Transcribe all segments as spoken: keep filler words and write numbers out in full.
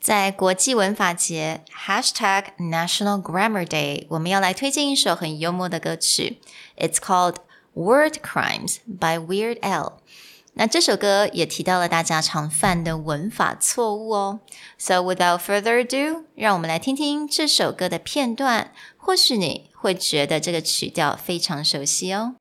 在国际文法节 Hashtag National Grammar Day 我们要来推荐一首很幽默的歌曲 It's called Word Crimes by Weird Al 那这首歌也提到了大家常犯的文法错误哦 So without further ado 让我们来听听这首歌的片段或许你会觉得这个曲调非常熟悉哦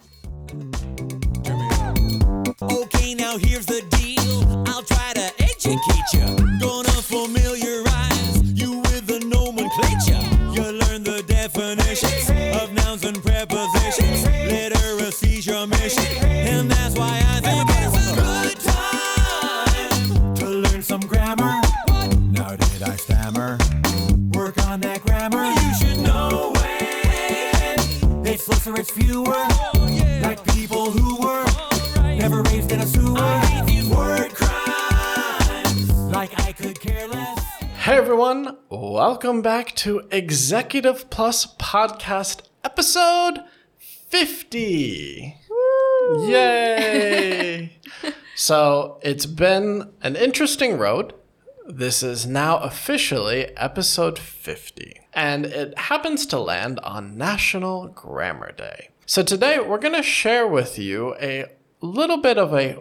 Okay, now here's the deal I'll try to educate you Gonna familiarize you with the nomenclature You'll learn the definitions of nouns and prepositions Literacy's your mission And that's why I think it's a good time To learn some grammar Now did I stammer? Work on that grammar You should know it It's less or it's fewer Like people who were Never raised in a sewer I hate these word crimes Like I could care less Hey everyone, welcome back to Executive Plus Podcast episode fifty. Woo. Yay! So it's been an interesting road. This is now officially episode fifty. And it happens to land on National Grammar Day. So today we're going to share with you a little bit of a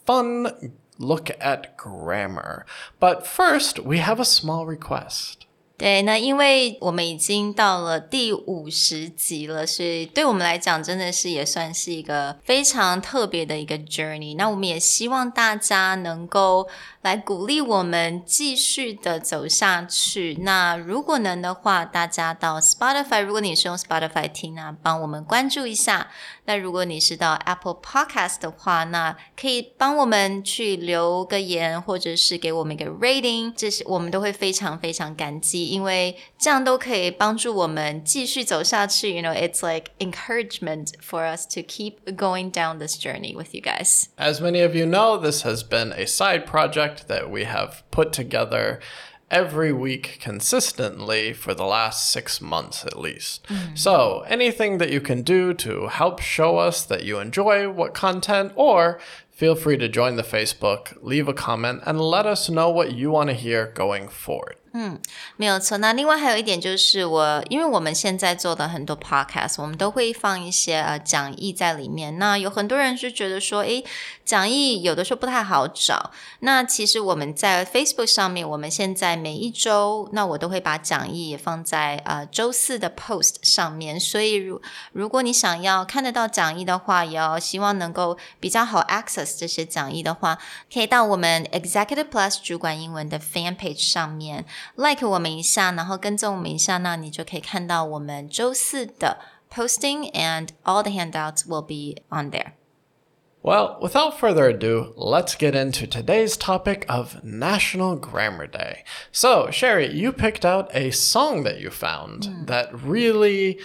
fun look at grammar. But first, we have a small request. 对，那因为我们已经到了第五十集了，所以对我们来讲真的是也算是一个非常特别的一个 journey。那我们也希望大家能够来鼓励我们继续的走下去。那如果能的话，大家到 Spotify， 如果你是用 Spotify 听啊，帮我们关注一下。那如果你是到 Apple Podcast 的话，那可以帮我们去留个言，或者是给我们一个 rating， 这是我们都会非常非常感激，因为这样都可以帮助我们继续走下去。You know, it's like encouragement for us to keep going down this journey with you guys. As many of you know, this has been a side project that we have put together every week consistently for the last six months at least. Mm. So anything that you can do to help show us that you enjoy what content, or feel free to join the Facebook, leave a comment, and let us know what you want to hear going forward. 嗯，没有错。那另外还有一点就是我，因为我们现在做的很多 podcast， 我们都会放一些呃讲义在里面。那有很多人就觉得说，诶，讲义有的时候不太好找。那其实我们在 Facebook 上面，我们现在每一周，那我都会把讲义也放在呃周四的 post 上面。所以如如果你想要看得到讲义的话，也要希望能够比较好 access 这些讲义的话，可以到我们 Executive Plus 主管英文的 fan page 上面。like 我们一下，然后跟踪我们一下，那你就可以看到我们周四的 posting and all the handouts will be on there. Well, without further ado, let's get into today's topic of National Grammar Day. So, Sherry, you picked out a song that you found mm. that really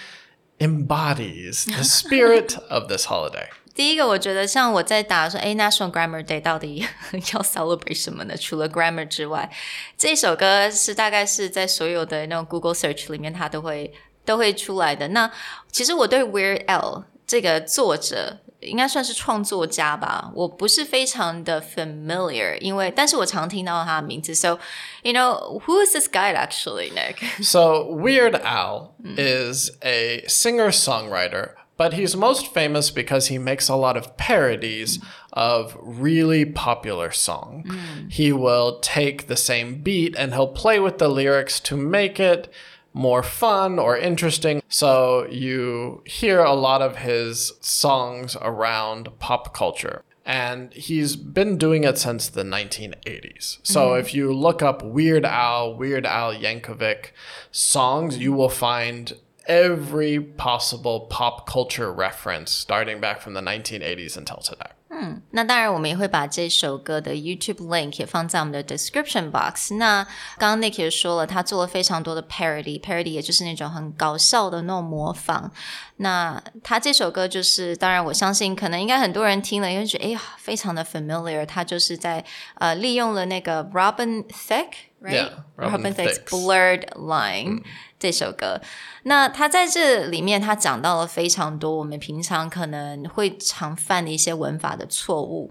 embodies the spirit of this holiday. 第一个我觉得像我在打说诶 National Grammar Day 到底要 celebrate 什么呢除了 grammar 之外这首歌是大概是在所有的那种 Google search 里面它都会都会出来的那其实我对 Weird Al 这个作者应该算是创作家吧我不是非常的 familiar 因为但是我常听到他的名字 so you know who is this guy actually Nick? So Weird Al mm. is a singer-songwriter But he's most famous because he makes a lot of parodies mm. of really popular songs. Mm. He will take the same beat and he'll play with the lyrics to make it more fun or interesting. So you hear a lot of his songs around pop culture. And he's been doing it since the nineteen eighties. So mm. if you look up Weird Al, Weird Al Yankovic songs, you will find every possible pop culture reference starting back from the nineteen eighties until today. 嗯，那当然我们也会把这首歌的 YouTube link 也放在我们的 description box. 那刚刚 Nick 也说了他做了非常多的 parody. Parody 也就是那种很搞笑的那种模仿。那他这首歌就是当然我相信可能应该很多人听了因为觉得哎呀非常的 familiar. 他就是在呃利用了那个 Robin Thicke, right? Yeah, Robin, Robin Thicke's Thicke's Blurred Line、嗯、这首歌。那他在这里面他讲到了非常多我们平常可能会常犯的一些文法的错误。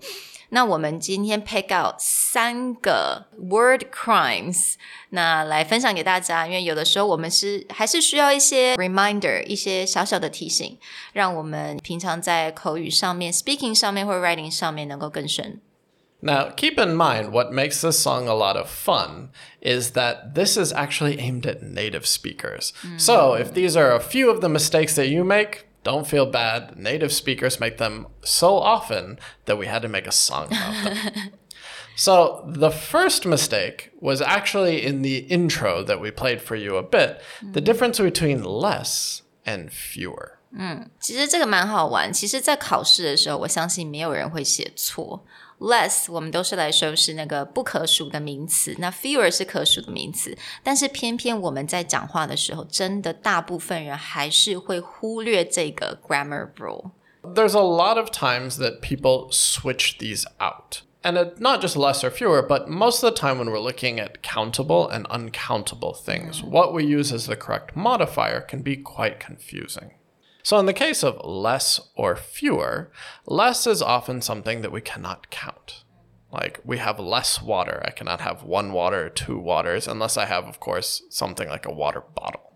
那我们今天 pick out 三个 word crimes， 那来分享给大家，因为有的时候我们是还是需要一些 reminder， 一些小小的提醒，让我们平常在口语上面 speaking 上面或 writing 上面能够更顺。 Now, keep in mind what makes this song a lot of fun is that this is actually aimed at native speakers. Mm. So if these are a few of the mistakes that you make, don't feel bad. Native speakers make them so often that we had to make a song about them. So the first mistake was actually in the intro that we played for you a bit, mm. the difference between less and fewer. 嗯，其实这个蛮好玩。其实在考试的时候，我相信没有人会写错。less 我们都是来修饰那个不可数的名词，那 fewer 是可数的名词，但是偏偏我们在讲话的时候，真的大部分人还是会忽略这个 grammar rule. There's a lot of times that people switch these out. And it, not just less or fewer, but most of the time when we're looking at countable and uncountable things, mm. what we use as the correct modifier can be quite confusing. So in the case of less or fewer, less is often something that we cannot count. Like, we have less water. I cannot have one water or two waters unless I have, of course, something like a water bottle.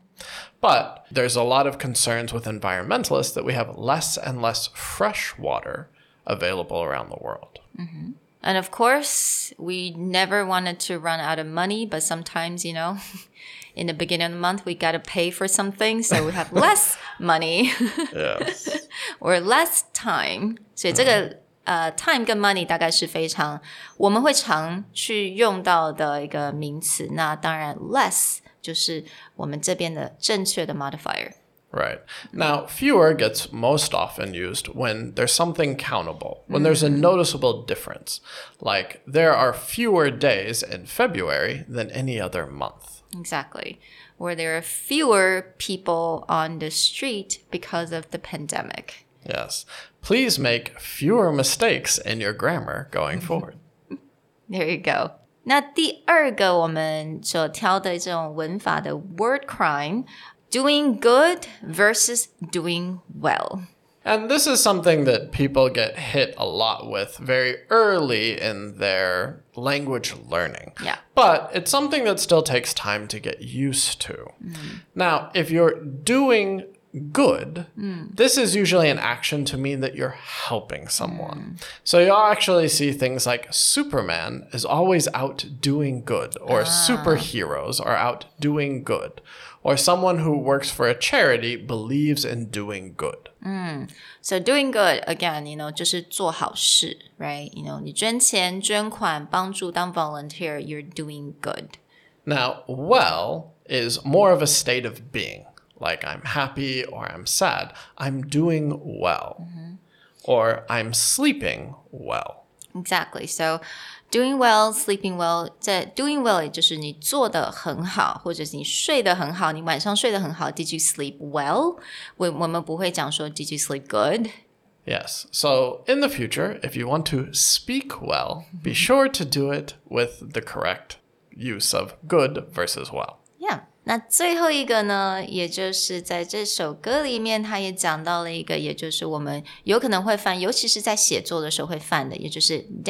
But there's a lot of concerns with environmentalists that we have less and less fresh water available around the world. Mm-hmm. And of course, we never wanted to run out of money, but sometimes, you know, in the beginning of the month, we got to pay for something, so we have less money. Yes. Or less time. 所以这个、嗯、呃 time 跟 money 大概是非常我们会常去用到的一个名词。那当然 less 就是我们这边的正确的 modifier. Right. Now, fewer gets most often used when there's something countable, when there's a noticeable difference. Like, there are fewer days in February than any other month. Exactly. Or there are fewer people on the street because of the pandemic. Yes. Please make fewer mistakes in your grammar going forward. There you go. 那第二个我们所挑的这种文法的 word crime,Doing good versus doing well. And this is something that people get hit a lot with very early in their language learning. Yeah. But it's something that still takes time to get used to. Mm. Now, if you're doing good, mm. this is usually an action to mean that you're helping someone. Mm. So you'll actually see things like Superman is always out doing good, or ah. superheroes are out doing good. Or someone who works for a charity believes in doing good. Mm. So doing good, again, you know, 就是做好事, right? You know, 你捐钱, 捐款, 帮助, 当 volunteer, you're doing good. Now, well is more of a state of being. Like, I'm happy or I'm sad. I'm doing well. Mm-hmm. Or I'm sleeping well. Exactly. So,Doing well, sleeping well. 在 doing well 也就是你做得很好，或者是你睡得很好，你晚上睡得很好。Did you sleep well? 我我们不会讲说 Did you sleep good? Yes. So in the future, if you want to speak well, be sure to do it with the correct use of good versus well. Yeah. 那最后一个呢，也就是在这首歌里面，他也讲到了一个，也就是我们有可能会犯，尤其是在写作的时候会犯的，也就是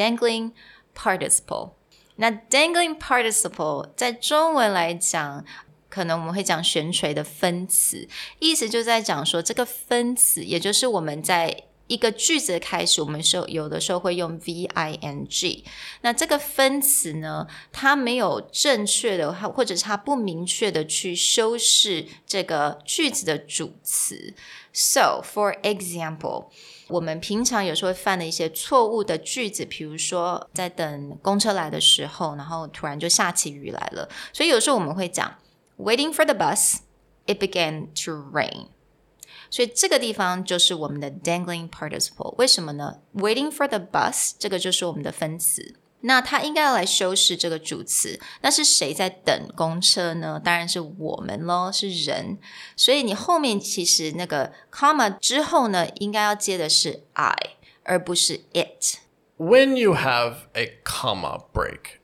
dangling.Participle. 那 dangling participle 在中文来讲，可能我们会讲悬垂的分词，意思就在讲说这个分词，也就是我们在一个句子的开始，我们有的时候会用 V-I-N-G。那这个分词呢，它没有正确的，或者是它不明确的去修饰这个句子的主词。So, for example,我们平常有时候会犯的一些错误的句子，比如说在等公车来的时候，然后突然就下起雨来了，所以有时候我们会讲 Waiting for the bus, it began to rain. 所以这个地方就是我们的 dangling participle. 为什么呢？ Waiting for the bus 这个就是我们的分词，那它应该要来修饰这个主词，那是谁在等公车呢？当然是我们咯，是人。所以你后面其实那个 comma 之后呢，应该要接的是 I 而不是 it. When you have a comma break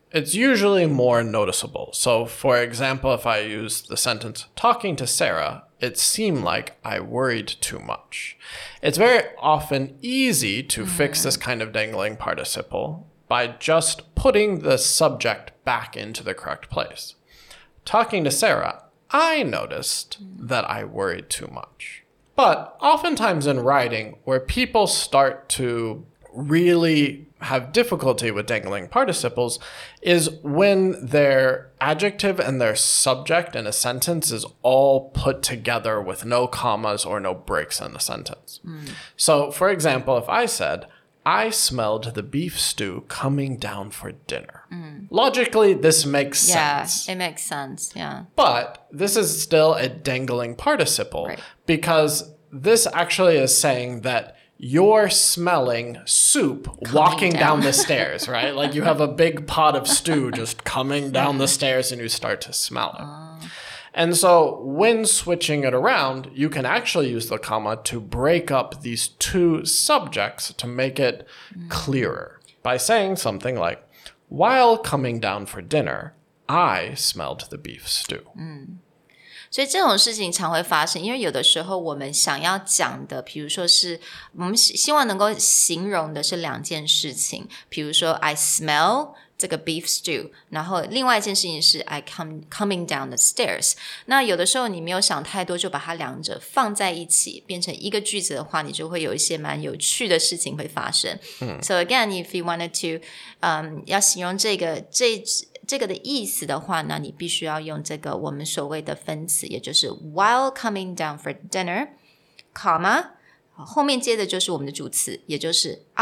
it's usually more noticeable. So, for example, if I use the sentence, talking to Sarah, it seemed like I worried too much. It's very often easy to mm. fix this kind of dangling participle by just putting the subject back into the correct place. Talking to Sarah, I noticed mm. that I worried too much. But oftentimes in writing, where people start to really have difficulty with dangling participles is when their adjective and their subject in a sentence is all put together with no commas or no breaks in the sentence. Mm. So, for example, if I said, I smelled the beef stew coming down for dinner. Mm. Logically, this makes yeah, sense. Yeah, it makes sense, yeah. But this is still a dangling participle right. because this actually is saying that you're smelling soup coming walking down. down the stairs, right? Like you have a big pot of stew just coming down the stairs and you start to smell it. Uh. And so when switching it around, you can actually use the comma to break up these two subjects to make it mm. clearer by saying something like, while coming down for dinner, I smelled the beef stew. Mm. 所以这种事情常会发生，因为有的时候我们想要讲的，比如说是我们希望能够形容的是两件事情，比如说 I smell 这个 beef stew， 然后另外一件事情是 I come coming down the stairs。那有的时候你没有想太多，就把它两者放在一起变成一个句子的话，你就会有一些蛮有趣的事情会发生。嗯、so again, if you wanted to， um, 要形容这个这这个的意思的话，那你必须要用这个我们所谓的分词，也就是 while coming down for dinner, comma 后面接的就是我们的主词，也就是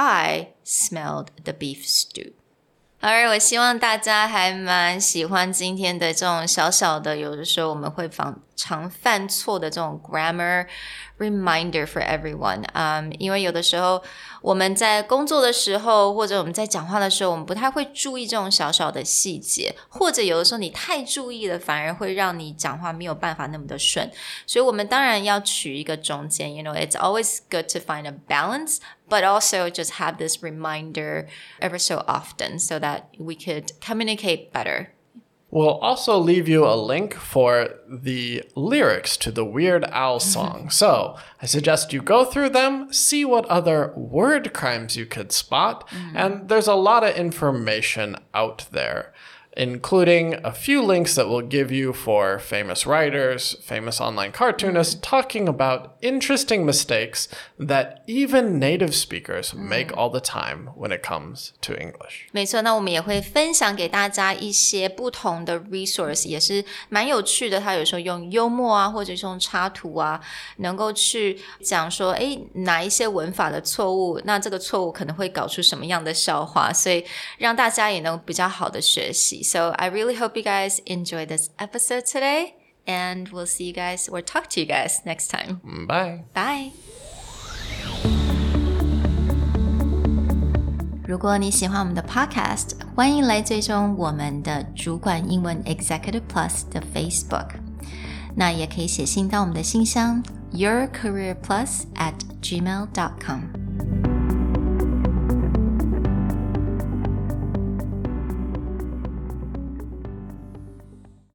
I smelled the beef stew。而我希望大家还蛮喜欢今天的这种小小的，有的时候我们会常犯错的这种 grammar reminder for everyone。嗯，因为有的时候我们在工作的时候，或者我们在讲话的时候，我们不太会注意这种小小的细节，或者有的时候你太注意了，反而会让你讲话没有办法那么的顺。所以我们当然要取一个中间 ，you know, it's always good to find a balance.But also just have this reminder ever so often so that we could communicate better. We'll also leave you a link for the lyrics to the Weird Al song. So I suggest you go through them, see what other word crimes you could spot, mm-hmm. and there's a lot of information out there, including a few links that we'll give you for famous writers, famous online cartoonists, talking about interesting mistakes that even native speakers make all the time when it comes to English. 没错，那我们也会分享给大家一些不同的 resource， 也是蛮有趣的。它有时候用幽默啊，或者是用插图啊，能够去讲说，诶，哪一些文法的错误，那这个错误可能会搞出什么样的笑话，所以让大家也能比较好的学习。So I really hope you guys enjoyed this episode today, and we'll see you guys or talk to you guys next time. Bye. Bye. 如果你喜欢我们的 podcast， 欢迎来追踪我们的主管英文 Executive Plus 的 Facebook。那也可以写信到我们的信箱 yourcareerplus at gmail dot com。